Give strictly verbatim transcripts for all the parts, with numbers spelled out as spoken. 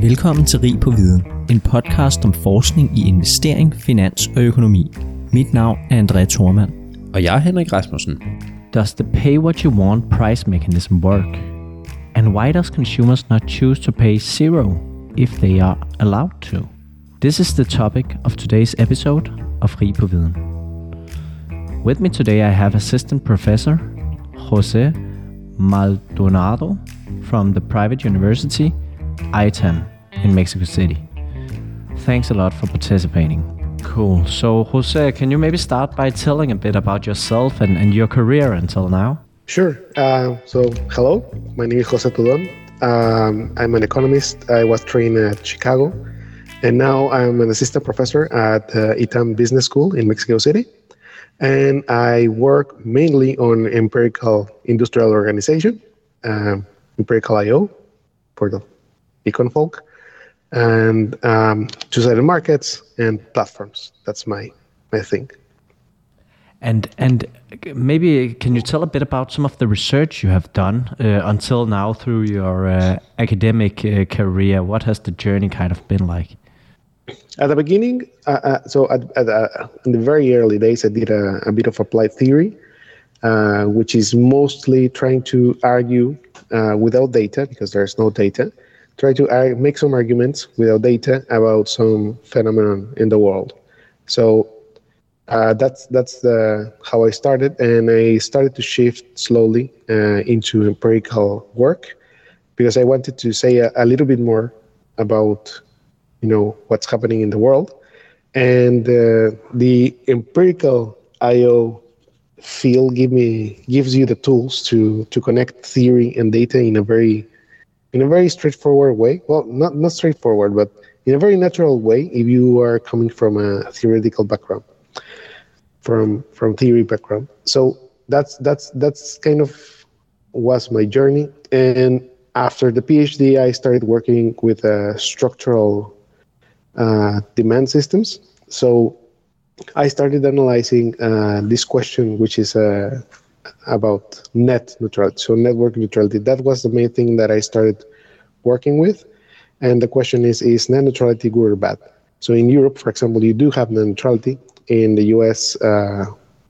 Velkommen til Rig på Viden, en podcast om forskning i investering, finans og økonomi. Mit navn er André Thormann. Og jeg er Henrik Rasmussen. Does the pay what you want price mechanism work? And why does consumers not choose to pay zero if they are allowed to? This is the topic of today's episode of Rig på Viden. With me today I have assistant professor Jose Maldonado from the private university I T A M in Mexico City. Thanks a lot for participating. Cool. So Jose, can you maybe start by telling a bit about yourself and, and your career until now? Sure. Uh, so hello, my name is Jose Tudon. Um, I'm an economist. I was trained at Chicago, and now I'm an assistant professor at uh, I T A M Business School in Mexico City. And I work mainly on empirical industrial organization, um, empirical I O for the econ folk, and um, two-sided markets and platforms. That's my my thing. And and maybe can you tell a bit about some of the research you have done uh, until now through your uh, academic uh, career? What has the journey kind of been like? At the beginning, uh, uh, so at, at, uh, in the very early days, I did a, a bit of applied theory, uh, which is mostly trying to argue uh, without data, because there's no data, try to argue, make some arguments without data about some phenomenon in the world. So uh, that's that's the how I started, and I started to shift slowly uh, into empirical work, because I wanted to say a, a little bit more about you know what's happening in the world, and uh, the empirical I O field give me gives you the tools to to connect theory and data in a very in a very straightforward way. Well, not not straightforward, but in a very natural way if you are coming from a theoretical background, from from theory background. So that's that's that's kind of was my journey. And after the PhD, I started working with uh, structural uh, demand systems. So I started analyzing uh, this question, which is uh, about net neutrality, so network neutrality. That was the main thing that I started working with. And the question is, is net neutrality good or bad? So in Europe, for example, you do have net neutrality. In the U S, uh,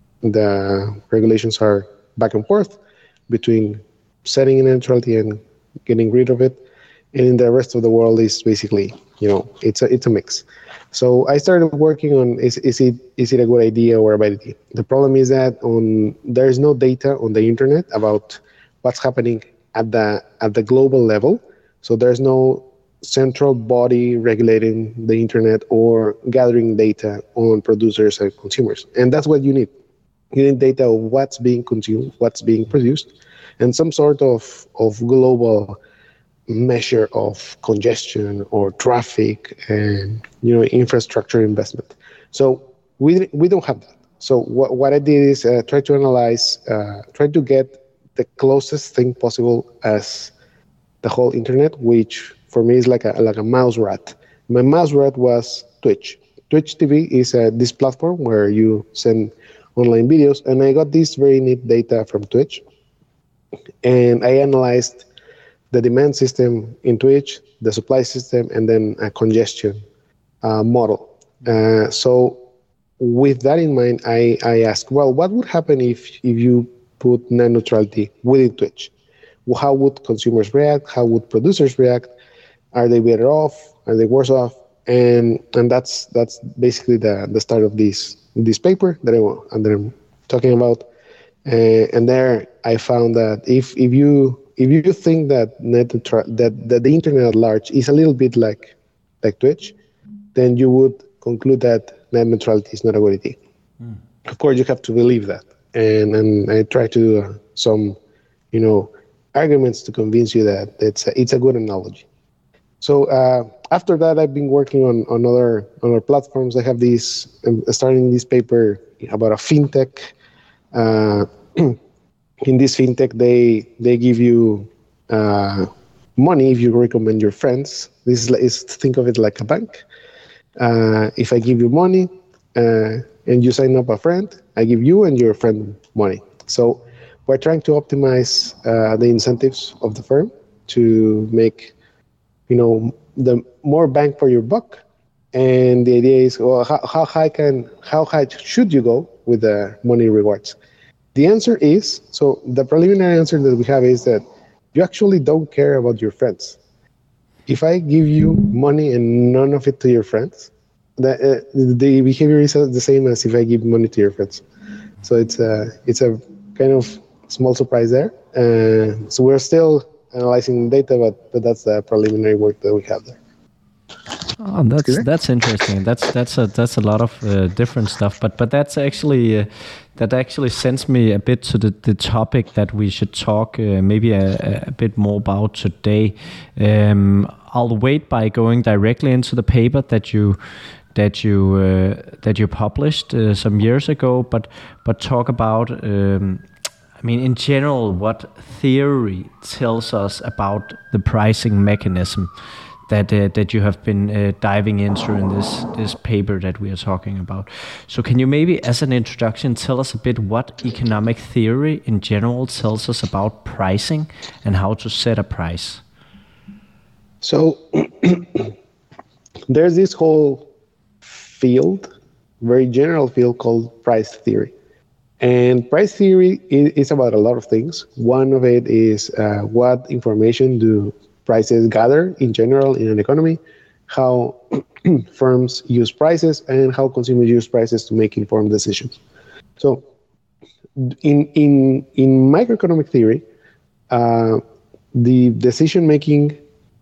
the regulations are back and forth between setting net neutrality and getting rid of it. And in the rest of the world is basically, you know, it's a it's a mix. So I started working on is is it is it a good idea or a bad idea? The problem is that on there is no data on the internet about what's happening at the at the global level. So there's no central body regulating the internet or gathering data on producers and consumers. And that's what you need. You need data of what's being consumed, what's being produced, and some sort of, of global measure of congestion or traffic and you know infrastructure investment. So we we don't have that. So what what I did is uh, try to analyze, uh, try to get the closest thing possible as the whole internet, which for me is like a like a mouse rat. My mouse rat was Twitch. Twitch T V is uh, this platform where you send online videos, and I got this very neat data from Twitch, and I analyzed the demand system in Twitch, the supply system, and then a congestion uh, model. Uh, so with that in mind, I, I asked, well, what would happen if, if you put net neutrality within Twitch? Well, how would consumers react? How would producers react? Are they better off? Are they worse off? And and that's that's basically the, the start of this this paper that, I, that I'm talking about. Uh, and there I found that if if you If you think that net that, that the internet at large is a little bit like like Twitch, then you would conclude that net neutrality is not a good idea. Mm. Of course, you have to believe that, and and I try to do uh, some, you know, arguments to convince you that it's a, it's a good analogy. So uh, after that, I've been working on, on other on other platforms. I have this I'm starting this paper about a fintech. Uh, In this fintech, they they give you uh, money if you recommend your friends. This is, is think of it like a bank. Uh, if I give you money uh, and you sign up a friend, I give you and your friend money. So we're trying to optimize uh, the incentives of the firm to make, you know, the more bang for your buck. And the idea is, well, how, how high can how high should you go with the money rewards? The answer is, so the preliminary answer that we have is that you actually don't care about your friends. If I give you money and none of it to your friends, the uh, the behavior is the same as if I give money to your friends. So it's a it's a kind of small surprise there. Uh, so we're still analyzing data, but, but that's the preliminary work that we have there. Oh, that's that's interesting. That's that's a that's a lot of uh, different stuff. But but that's actually uh, that actually sends me a bit to the, the topic that we should talk uh, maybe a, a bit more about today. Um, I'll wait by going directly into the paper that you that you uh, that you published uh, some years ago. But but talk about. Um, I mean, in general, what theory tells us about the pricing mechanism that uh, that you have been uh, diving into in this this paper that we are talking about. So can you maybe, as an introduction, tell us a bit what economic theory in general tells us about pricing and how to set a price? So there's this whole field, very general field called price theory. And price theory is about a lot of things. One of it is uh, what information do prices gather in general in an economy, how firms use prices, and how consumers use prices to make informed decisions. So in in in microeconomic theory, uh, the decision making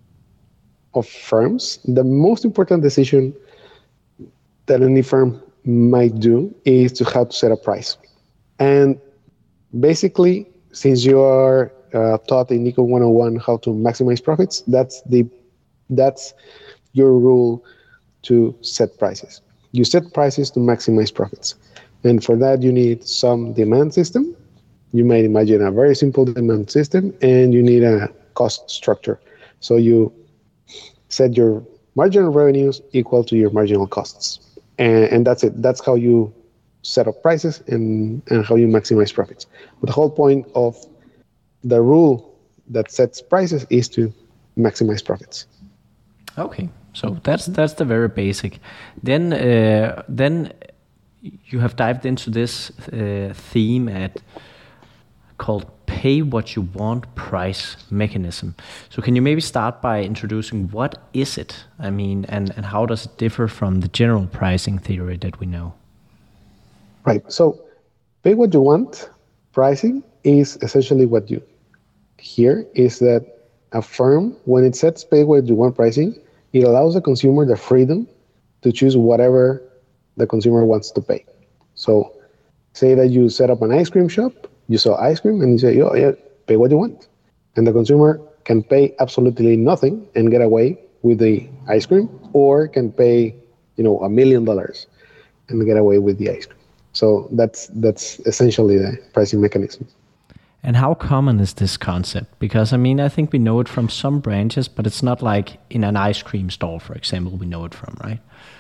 of firms, the most important decision that any firm might do is to how to set a price. And basically, since you are Uh, taught in Econ one oh one how to maximize profits, that's the that's your rule to set prices. You set prices to maximize profits, and for that you need some demand system. You might imagine a very simple demand system, and you need a cost structure. So you set your marginal revenues equal to your marginal costs, and, and that's it. That's how you set up prices and, and how you maximize profits. But the whole point of the rule that sets prices is to maximize profits. Okay, so that's that's the very basic. Then uh, then you have dived into this uh, theme at called pay what you want price mechanism. So can you maybe start by introducing what is it? I mean, and, and how does it differ from the general pricing theory that we know? Right. So pay what you want pricing is essentially what you here is that a firm, when it sets pay what you want pricing, it allows the consumer the freedom to choose whatever the consumer wants to pay. So say that you set up an ice cream shop, you sell ice cream, and you say, oh yeah, pay what you want. And the consumer can pay absolutely nothing and get away with the ice cream, or can pay, you know, a million dollars and get away with the ice cream. So that's that's essentially the pricing mechanism. And how common is this concept? Because, I mean, I think we know it from some branches, but it's not like in an ice cream stall, for example, we know it from, right?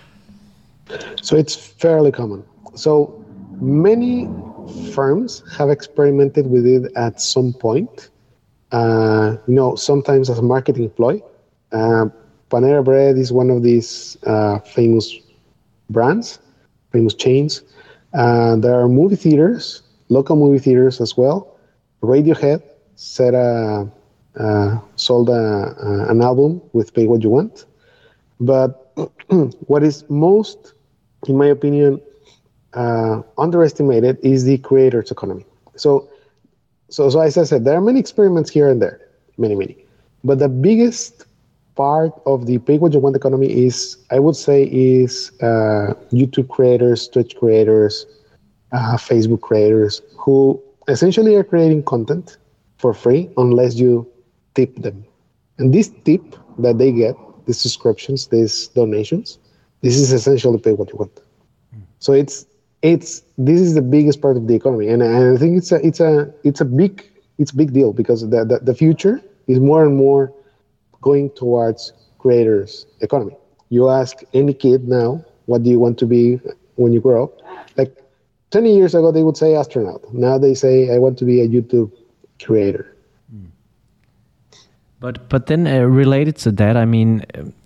So it's fairly common. So many firms have experimented with it at some point. Uh, you know, sometimes as a marketing ploy. Uh, Panera Bread is one of these uh, famous brands, famous chains. Uh, there are movie theaters, local movie theaters as well. Radiohead set a, uh, sold a, uh, an album with Pay What You Want. But what is most, in my opinion, uh, underestimated is the creator's economy. So, so, so as I said, there are many experiments here and there, many, many. But the biggest part of the Pay What You Want economy is, I would say, is uh, YouTube creators, Twitch creators, uh, Facebook creators, who essentially are creating content for free unless you tip them. And this tip that they get, these subscriptions, these donations, this is essentially pay what you want. Mm. So it's it's this is the biggest part of the economy, and, and I think it's a it's a it's a big it's a big deal because the, the the future is more and more going towards creators economy. You ask any kid now, what do you want to be when you grow up? Like twenty years ago, they would say astronaut. Now they say, I want to be a YouTube creator. But but then uh, related to that, I mean,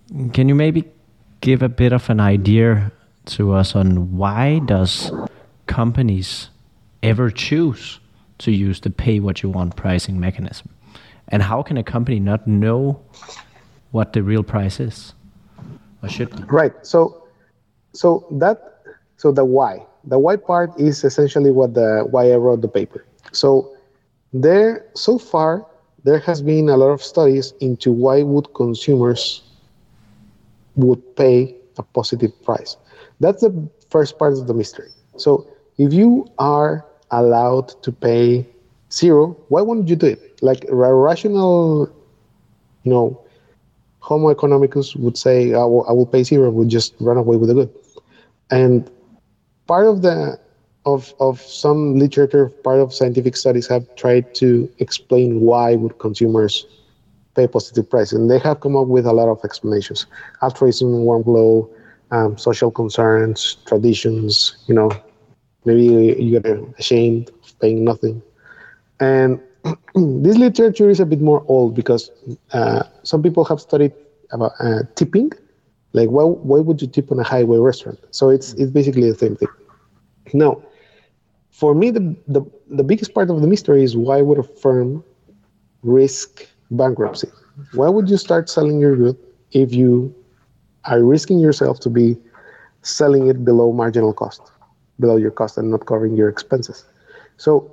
Can you maybe give a bit of an idea to us on why does companies ever choose to use the pay what you want pricing mechanism? And how can a company not know what the real price is or should be? Right. So, so that, so the why, the why part is essentially what the why I wrote the paper. So there, so far, there has been a lot of studies into why would consumers would pay a positive price. That's the first part of the mystery. So if you are allowed to pay zero, why wouldn't you do it? Like a rational, you know, Homo economicus would say, I will, I will pay zero, we'll just run away with the good. And part of the of of some literature, part of scientific studies have tried to explain why would consumers pay positive price, and they have come up with a lot of explanations: altruism, warm glow, um, social concerns, traditions. You know, maybe you get ashamed of paying nothing. And this literature is a bit more old because uh, some people have studied about uh, tipping, like why why would you tip on a highway restaurant? So it's it's basically the same thing. Now, for me, the, the, the biggest part of the mystery is why would a firm risk bankruptcy? Why would you start selling your good if you are risking yourself to be selling it below marginal cost, below your cost and not covering your expenses? So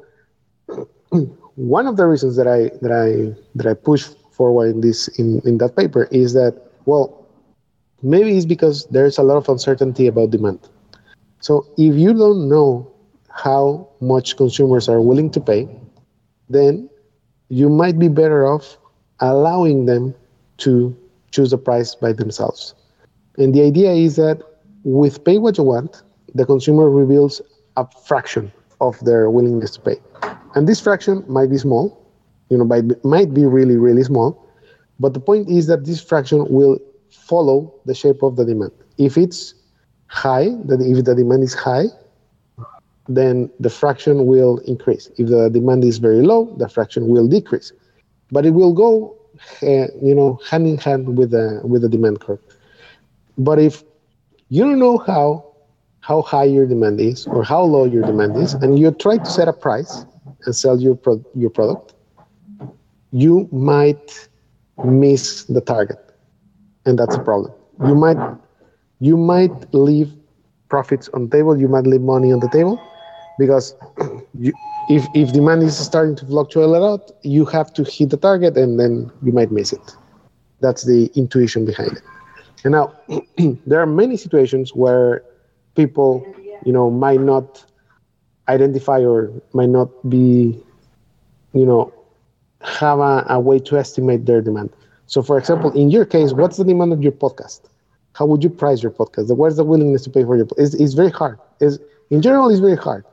one of the reasons that I that I that I push forward in this in, in that paper is that, well, maybe it's because there's a lot of uncertainty about demand. So if you don't know how much consumers are willing to pay, then you might be better off allowing them to choose a price by themselves. And the idea is that with Pay What You Want, the consumer reveals a fraction of their willingness to pay. And this fraction might be small, you know, might, might be really, really small. But the point is that this fraction will follow the shape of the demand. If it's high, that if the demand is high, then the fraction will increase. If the demand is very low, the fraction will decrease. But it will go, uh, you know, hand in hand with the with the demand curve. But if you don't know how how high your demand is or how low your demand is, and you try to set a price and sell your pro- your product, you might miss the target, and that's a problem. You might you might leave profits on the table. You might leave money on the table. Because you, if, if demand is starting to fluctuate a lot, you have to hit the target and then you might miss it. That's the intuition behind it. And now, there are many situations where people, you know, might not identify or might not be, you know, have a, a way to estimate their demand. So, for example, in your case, what's the demand of your podcast? How would you price your podcast? What's the willingness to pay for your podcast? It's, it's very hard. It's, in general, it's very hard.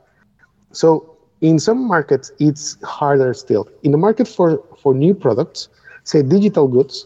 So in some markets, it's harder still. In the market for, for new products, say digital goods,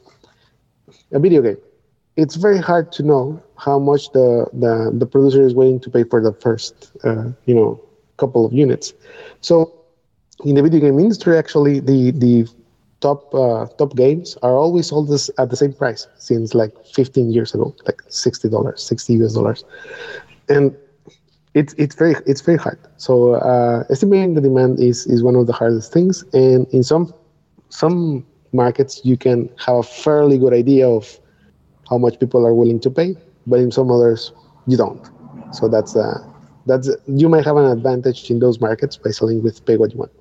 a video game, it's very hard to know how much the, the, the producer is willing to pay for the first, uh, you know, couple of units. So in the video game industry, actually, the, the top uh, top games are always sold this at the same price since like fifteen years ago, like sixty dollars, sixty U S dollars. And It's it's very it's very hard. So uh, estimating the demand is, is one of the hardest things. And in some some markets, you can have a fairly good idea of how much people are willing to pay, but in some others, you don't. So that's uh, that's you might have an advantage in those markets by selling with Pay What You Want.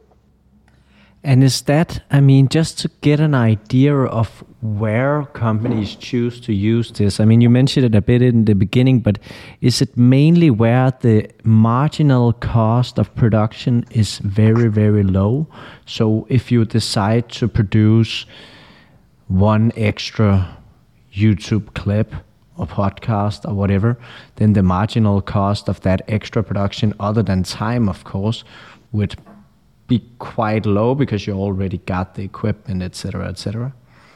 And is that, I mean, just to get an idea of where companies choose to use this, I mean, you mentioned it a bit in the beginning, but is it mainly where the marginal cost of production is very, very low? So if you decide to produce one extra YouTube clip or podcast or whatever, then the marginal cost of that extra production, other than time, of course, would be quite low because you already got the equipment, et cetera, et cetera.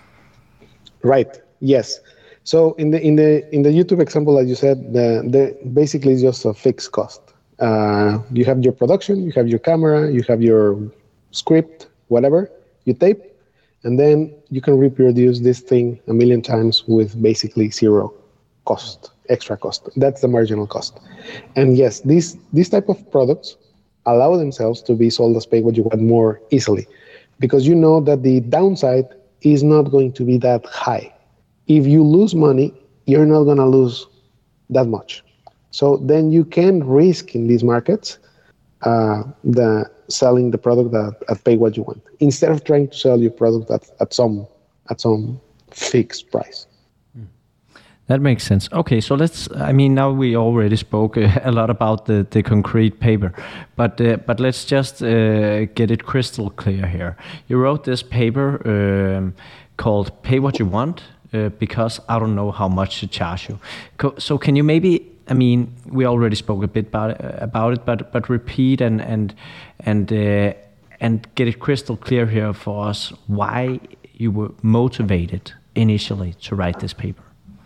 Right. Yes. So in the in the in the YouTube example, as you said, the the basically it's just a fixed cost. Uh, you have your production, you have your camera, you have your script, whatever you tape, And then you can reproduce this thing a million times with basically zero cost, extra cost. That's the marginal cost. And yes, these these type of products allow themselves to be sold as pay what you want more easily, because you know that the downside is not going to be that high. If you lose money, you're not going to lose that much. So then you can risk in these markets uh, the selling the product at, at pay what you want, instead of trying to sell your product at, at some at some fixed price. That makes sense. Okay, so let's, I mean, now we already spoke a lot about the, the concrete paper, but uh, but let's just uh, get it crystal clear here. You wrote this paper um, called Pay What You Want, uh, because I don't know how much to charge you. So can you maybe, I mean, we already spoke a bit about it, about it but but repeat and and and uh, and get it crystal clear here for us why you were motivated initially to write this paper.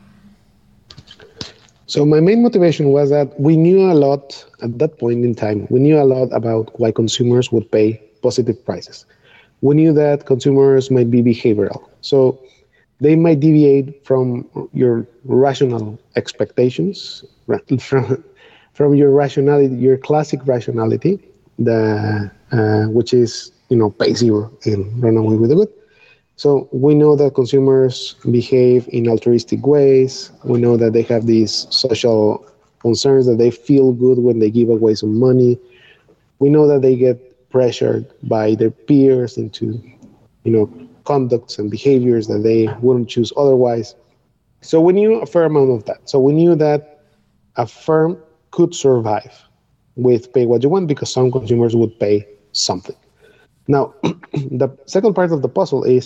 So my main motivation was that we knew a lot at that point in time. We knew a lot about why consumers would pay positive prices. We knew that consumers might be behavioral. So they might deviate from your rational expectations, from, from your rationality, your classic rationality, the, uh, which is, you know, pay zero and run away with the good. So we know that consumers behave in altruistic ways. We know that they have these social concerns, that they feel good when they give away some money. We know that they get pressured by their peers into, you know, conducts and behaviors that they wouldn't choose otherwise. So we knew a fair amount of that. So we knew that a firm could survive with pay what you want because some consumers would pay something. Now, the second part of the puzzle is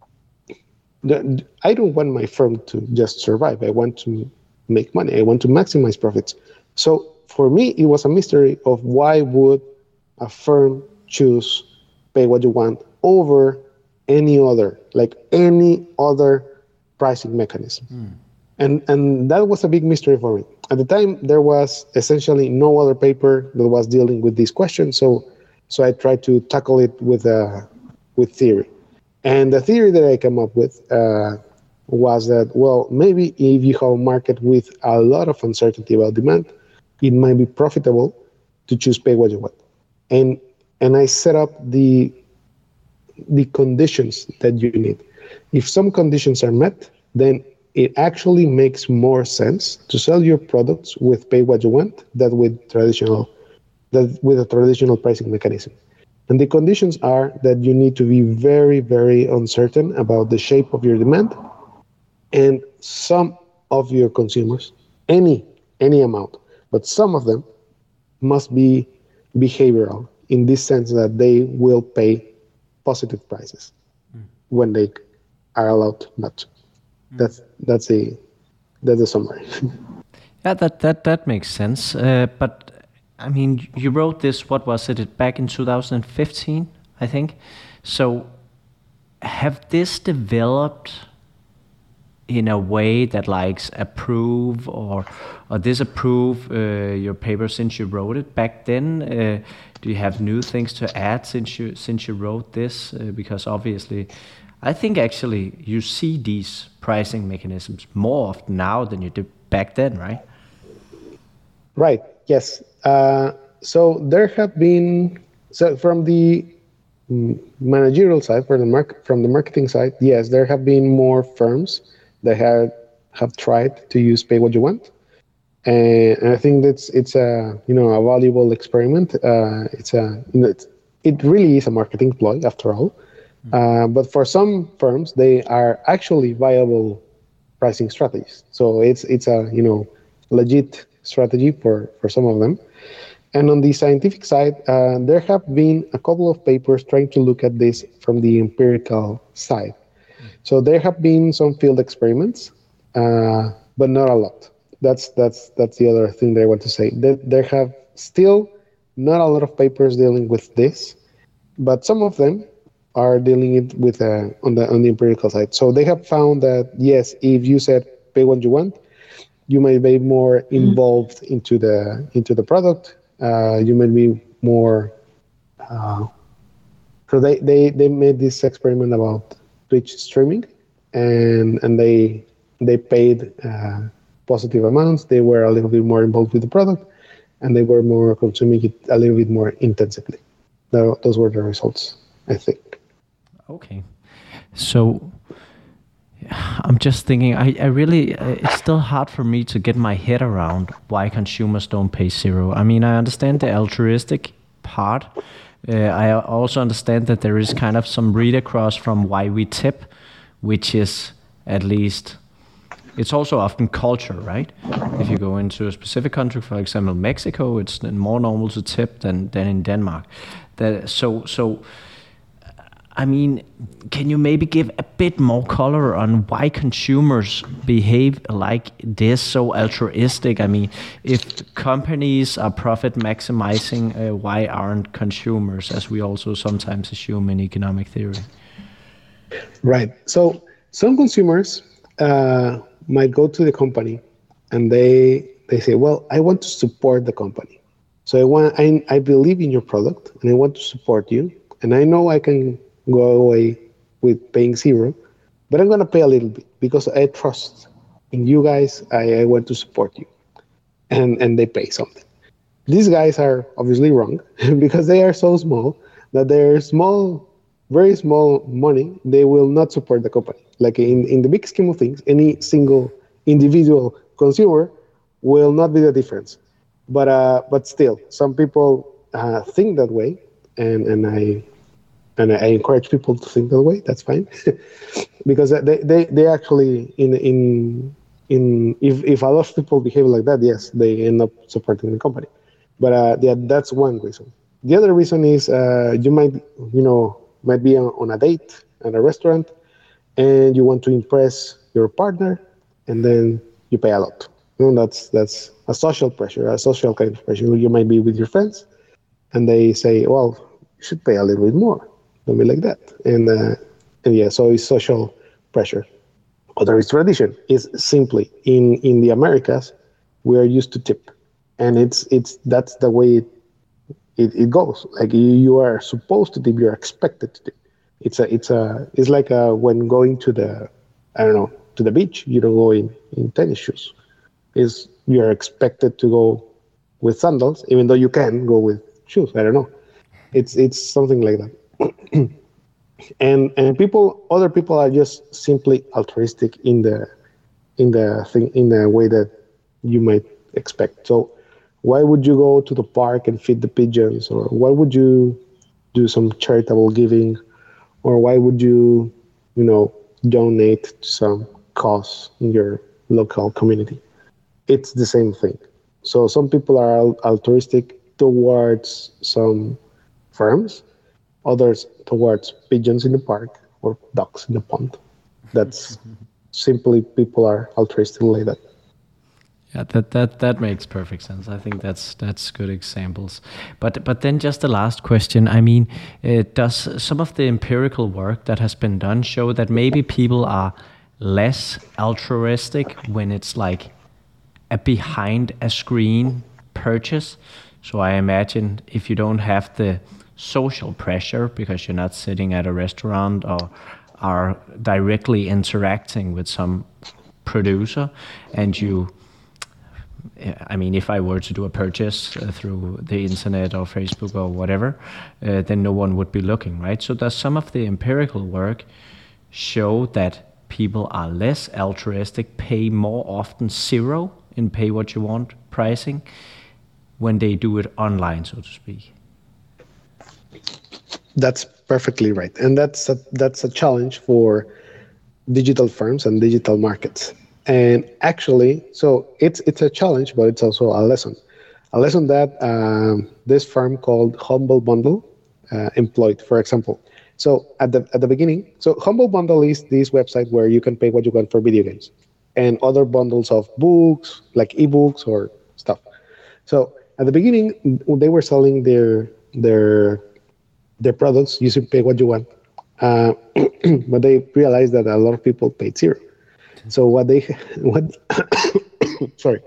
that I don't want my firm to just survive. I want to make money. I want to maximize profits. So for me, it was a mystery of why would a firm choose pay what you want over any other, like any other pricing mechanism. Mm. And and that was a big mystery for me. At the time, there was essentially no other paper that was dealing with this question. So so I tried to tackle it with uh, with theory. And the theory that I came up with uh, was that, well, maybe if you have a market with a lot of uncertainty about demand, it might be profitable to choose pay what you want. And and I set up the the conditions that you need. If some conditions are met, then it actually makes more sense to sell your products with pay what you want than with traditional that with a traditional pricing mechanism. And the conditions are that you need to be very, very uncertain about the shape of your demand, and some of your consumers, any any amount, but some of them must be behavioral in this sense that they will pay positive prices mm. when they are allowed not to. Mm. That's that's a that's a summary. Yeah, that that that makes sense. Uh, but I mean, you wrote this, what was it, back in two thousand fifteen, I think. So have this developed in a way that likes approve or or disapprove uh, your paper since you wrote it back then? Uh, do you have new things to add since you since you wrote this? Uh, because obviously, I think actually you see these pricing mechanisms more often now than you did back then, right? Right. Yes. Uh, so there have been, so from the managerial side, from the market, from the marketing side, yes, there have been more firms that have have tried to use pay what you want, and, and I think that's it's a you know a valuable experiment. Uh, it's a you know it's, it really is a marketing ploy after all, mm-hmm. uh, but for some firms they are actually viable pricing strategies. So it's it's a you know legit strategy for, for some of them. And on the scientific side, uh, there have been a couple of papers trying to look at this from the empirical side. Mm. So there have been some field experiments, uh, but not a lot. That's that's that's the other thing that I want to say. There, there have still not a lot of papers dealing with this, but some of them are dealing it with uh, on the on the empirical side. So they have found that yes, if you said pay what you want, you may be more involved mm. into the into the product. Uh, you may be more. Uh, so they, they, they made this experiment about Twitch streaming, and and they they paid uh, positive amounts. They were a little bit more involved with the product, and they were more consuming it a little bit more intensively. Tho- Those were the results, I think. Okay. So I'm just thinking, I, I really, uh, it's still hard for me to get my head around why consumers don't pay zero. I mean, I understand the altruistic part. Uh, I also understand that there is kind of some read across from why we tip, which is at least, it's also often culture, right? If you go into a specific country, for example, Mexico, it's more normal to tip than, than in Denmark. That, so, so, I mean, can you maybe give a bit more color on why consumers behave like this, so altruistic? I mean, if companies are profit maximizing, uh, why aren't consumers, as we also sometimes assume in economic theory? Right. So some consumers uh, might go to the company and they they say, well, I want to support the company. So I want I, I believe in your product and I want to support you. And I know I can go away with paying zero, but I'm going to pay a little bit because I trust in you guys. I, I want to support you. And, and they pay something. These guys are obviously wrong because they are so small that they're small, very small money. They will not support the company. Like in, in the big scheme of things, any single individual consumer will not be the difference. But uh, but still, some people uh, think that way, and, and I and I encourage people to think that way. That's fine, because they, they, they actually in in in if, if a lot of people behave like that, yes, they end up supporting the company. But uh, yeah, that's one reason. The other reason is uh, you might you know might be on, on a date at a restaurant, and you want to impress your partner, and then you pay a lot. You know, that's that's a social pressure, a social kind of pressure. You might be with your friends, and they say, "Well, you should pay a little bit more." Don't be like that. And uh, and yeah, so it's social pressure. Other is tradition. Is simply in in the Americas, we are used to tip, and it's it's that's the way it it, it goes. Like you, you are supposed to tip, you're expected to tip. It's a it's a it's like a, when going to the I don't know to the beach, you don't go in, in tennis shoes. Is you are expected to go with sandals, even though you can go with shoes. I don't know. It's it's something like that. and and people, other people are just simply altruistic in the in the thing in the way that you might expect. So why would you go to the park and feed the pigeons, or why would you do some charitable giving, or why would you you know donate to some cause in your local community? It's the same thing. So some people are altruistic towards some firms, others towards pigeons in the park or ducks in the pond. That's simply people are altruistic like that. Yeah, that, that that makes perfect sense. I think that's that's good examples. But but then just the last question. I mean, uh, does some of the empirical work that has been done show that maybe people are less altruistic when it's like a behind a screen purchase? So I imagine if you don't have the social pressure because you're not sitting at a restaurant or are directly interacting with some producer, and you, I mean, if I were to do a purchase uh, through the internet or Facebook or whatever, uh, then no one would be looking, right? So does some of the empirical work show that people are less altruistic, pay more often zero in pay what you want pricing when they do it online, so to speak? That's perfectly right, and that's a, that's a challenge for digital firms and digital markets. And actually, so it's it's a challenge, but it's also a lesson, a lesson that um, this firm called Humble Bundle uh, employed, for example. So at the at the beginning, so Humble Bundle is this website where you can pay what you want for video games and other bundles of books, like ebooks or stuff. So at the beginning, they were selling their their their products using pay what you want, uh, but they realized that a lot of people paid zero. So what they what sorry.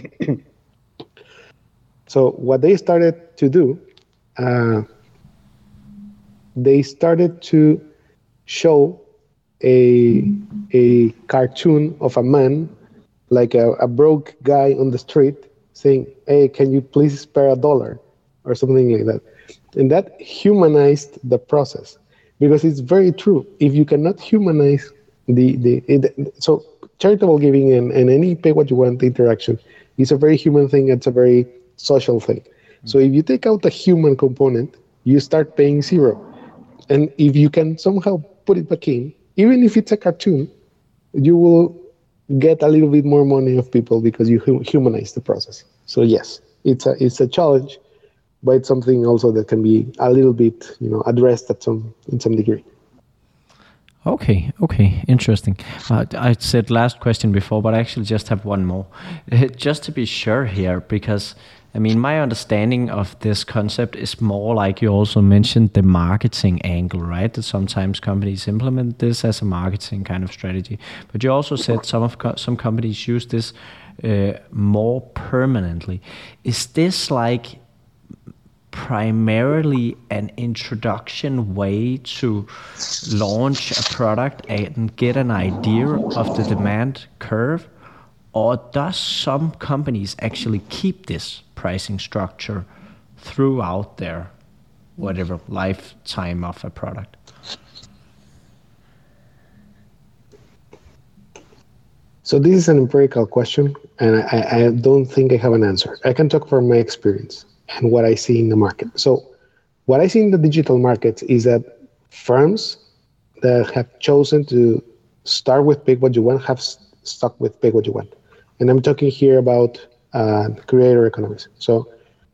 So what they started to do, uh, they started to show a a cartoon of a man, like a, a broke guy on the street, saying, "Hey, can you please spare a dollar?" or something like that. And that humanized the process, because it's very true. If you cannot humanize the the it, so charitable giving and, and any pay what you want interaction is a very human thing. It's a very social thing. Mm-hmm. So if you take out the human component, you start paying zero. And if you can somehow put it back in, even if it's a cartoon, you will get a little bit more money of people because you humanize the process. So yes, it's a it's a challenge, but it's something also that can be a little bit, you know, addressed at some in some degree. Okay, okay, interesting. Uh, I said last question before, but I actually just have one more, uh, just to be sure here, because I mean, my understanding of this concept is more like you also mentioned the marketing angle, right? That sometimes companies implement this as a marketing kind of strategy, but you also said some of co- some companies use this uh, more permanently. Is this like primarily an introduction way to launch a product and get an idea of the demand curve? Or does some companies actually keep this pricing structure throughout their whatever lifetime of a product? So this is an empirical question, and I, I don't think I have an answer. I can talk from my experience and what I see in the market. So what I see in the digital market is that firms that have chosen to start with Pay What You Want have stuck with Pay What You Want. And I'm talking here about uh, creator economics. So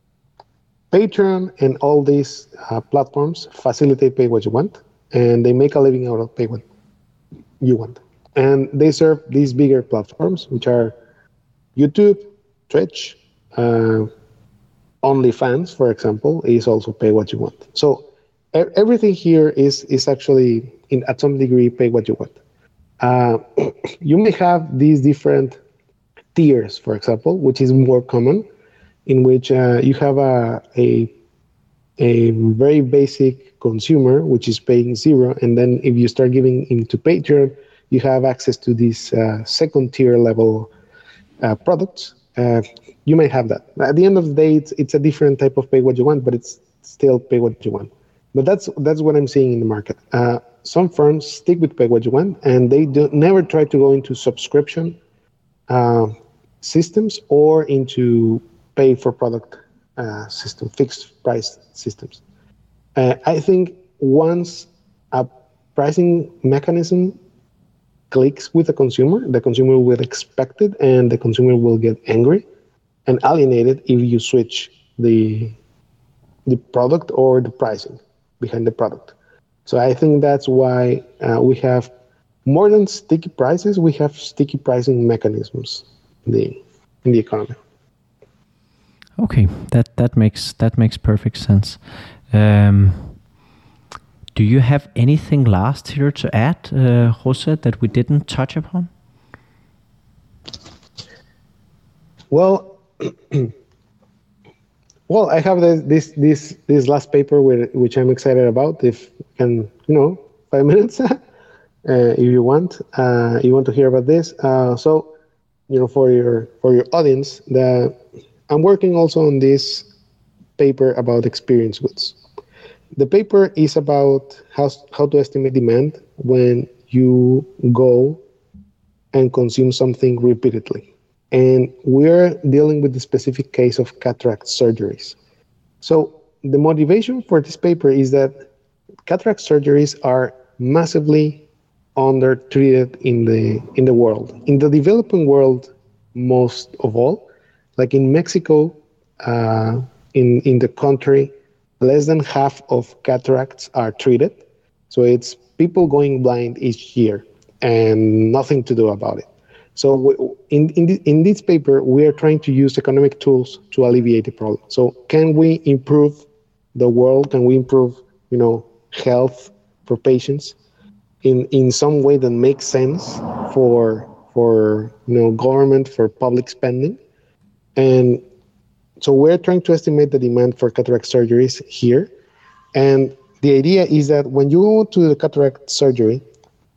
Patreon and all these uh, platforms facilitate Pay What You Want, and they make a living out of Pay What You Want. And they serve these bigger platforms, which are YouTube, Twitch, uh, OnlyFans, for example, is also Pay What You Want. So e- everything here is is actually, in at some degree, Pay What You Want. Uh, you may have these different tiers, for example, which is more common, in which uh, you have a, a a very basic consumer, which is paying zero, and then if you start giving into Patreon, you have access to these uh, second tier level uh, products. Uh, you may have that. At the end of the day, it's it's a different type of Pay What You Want, but it's still Pay What You Want. But that's that's what I'm seeing in the market. Uh, some firms stick with Pay What You Want, and they do never try to go into subscription uh, systems or into pay for product uh, system, fixed price systems. Uh, I think once a pricing mechanism clicks with the consumer, the consumer will expect it, and the consumer will get angry and alienated if you switch the the product or the pricing behind the product. So I think that's why uh, we have more than sticky prices, we have sticky pricing mechanisms in the in the economy. Okay, that that makes that makes perfect sense. Um, do you have anything last here to add, uh, Jose, that we didn't touch upon? Well, well, I have this this this this last paper with, which I'm excited about. If you can, you know, five minutes, uh, if you want, uh, you want to hear about this. Uh, so, you know, for your for your audience, the I'm working also on this paper about experience goods. The paper is about how how to estimate demand when you go and consume something repeatedly. And we're dealing with the specific case of cataract surgeries. So the motivation for this paper is that cataract surgeries are massively undertreated in the in the world. In the developing world, most of all, like in Mexico, uh, in in the country, less than half of cataracts are treated. So it's people going blind each year and nothing to do about it. So in in, the, in this paper, we are trying to use economic tools to alleviate the problem. So can we improve the world? Can we improve, you know, health for patients in, in some way that makes sense for for you know government, for public spending? And so we're trying to estimate the demand for cataract surgeries here. And the idea is that when you go to the cataract surgery,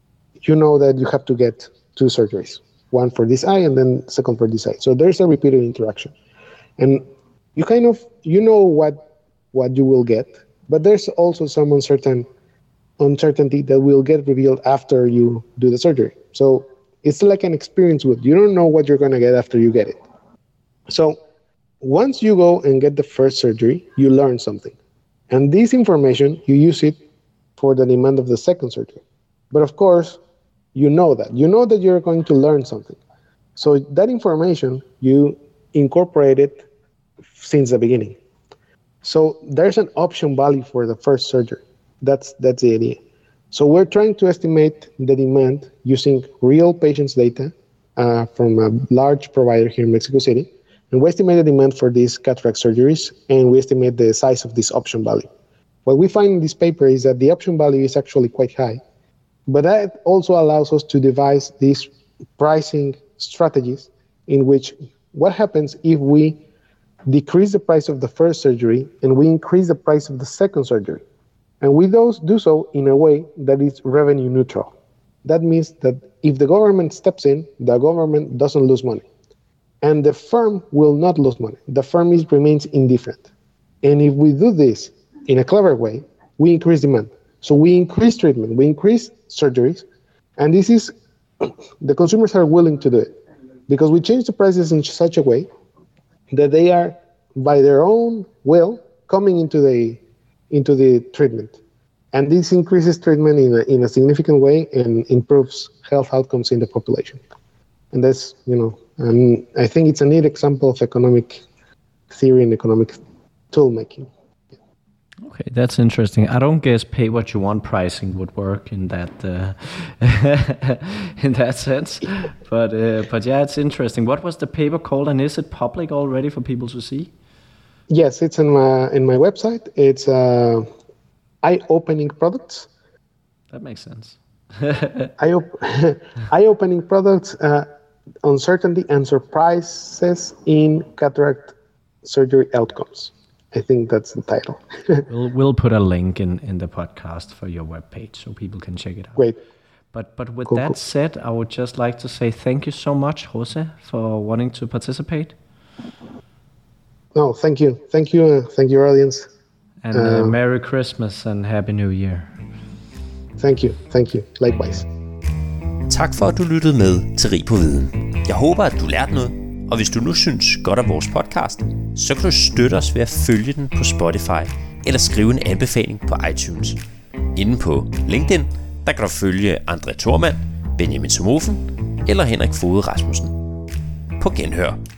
you know that you have to get two surgeries, one for this eye and then second for this eye. So there's a repeated interaction. And you kind of, you know what what you will get, but there's also some uncertain uncertainty that will get revealed after you do the surgery. So it's like an experience with, you don't know what you're going to get after you get it. So once you go and get the first surgery, you learn something. And this information, you use it for the demand of the second surgery. But of course, you know that. You know that you're going to learn something. So that information, you incorporate it since the beginning. So there's an option value for the first surgery. That's that's the idea. So we're trying to estimate the demand using real patients' data uh, from a large provider here in Mexico City. And we estimate the demand for these cataract surgeries, and we estimate the size of this option value. What we find in this paper is that the option value is actually quite high, but that also allows us to devise these pricing strategies in which what happens if we decrease the price of the first surgery and we increase the price of the second surgery. And we do so in a way that is revenue neutral. That means that if the government steps in, the government doesn't lose money. And the firm will not lose money. The firm is, remains indifferent. And if we do this in a clever way, we increase demand. So we increase treatment, we increase surgeries, and this is, the consumers are willing to do it. Because we change the prices in such a way that they are, by their own will, coming into the into the treatment. And this increases treatment in a, in a significant way and improves health outcomes in the population. And that's, you know, and I think it's a neat example of economic theory and economic tool making. Okay, that's interesting. I don't guess pay what you want pricing would work in that uh, in that sense, but uh, but yeah, it's interesting. What was the paper called, and is it public already for people to see? Yes, it's in my in my website. It's uh, eye-opening products. That makes sense. Eye op- eye-opening products, uh, uncertainty and surprises in cataract surgery outcomes. I think that's the title. we'll we'll put a link in, in the podcast for your webpage so people can check it out. Great. But but with cool, that cool. said, I would just like to say thank you so much, Jose, for wanting to participate. No, thank you. Thank you. Uh, thank you, audience. And uh, Merry Christmas and Happy New Year. Thank you. Thank you. Likewise. Tak for, at du lyttede med til Rig på Viden. Jeg håber, at du lærte noget, og hvis du nu synes godt af vores podcast, så kan du støtte os ved at følge den på Spotify eller skrive en anbefaling på iTunes. Inde på LinkedIn, der kan du følge André Thormand, Benjamin Somofen eller Henrik Foged Rasmussen. På genhør.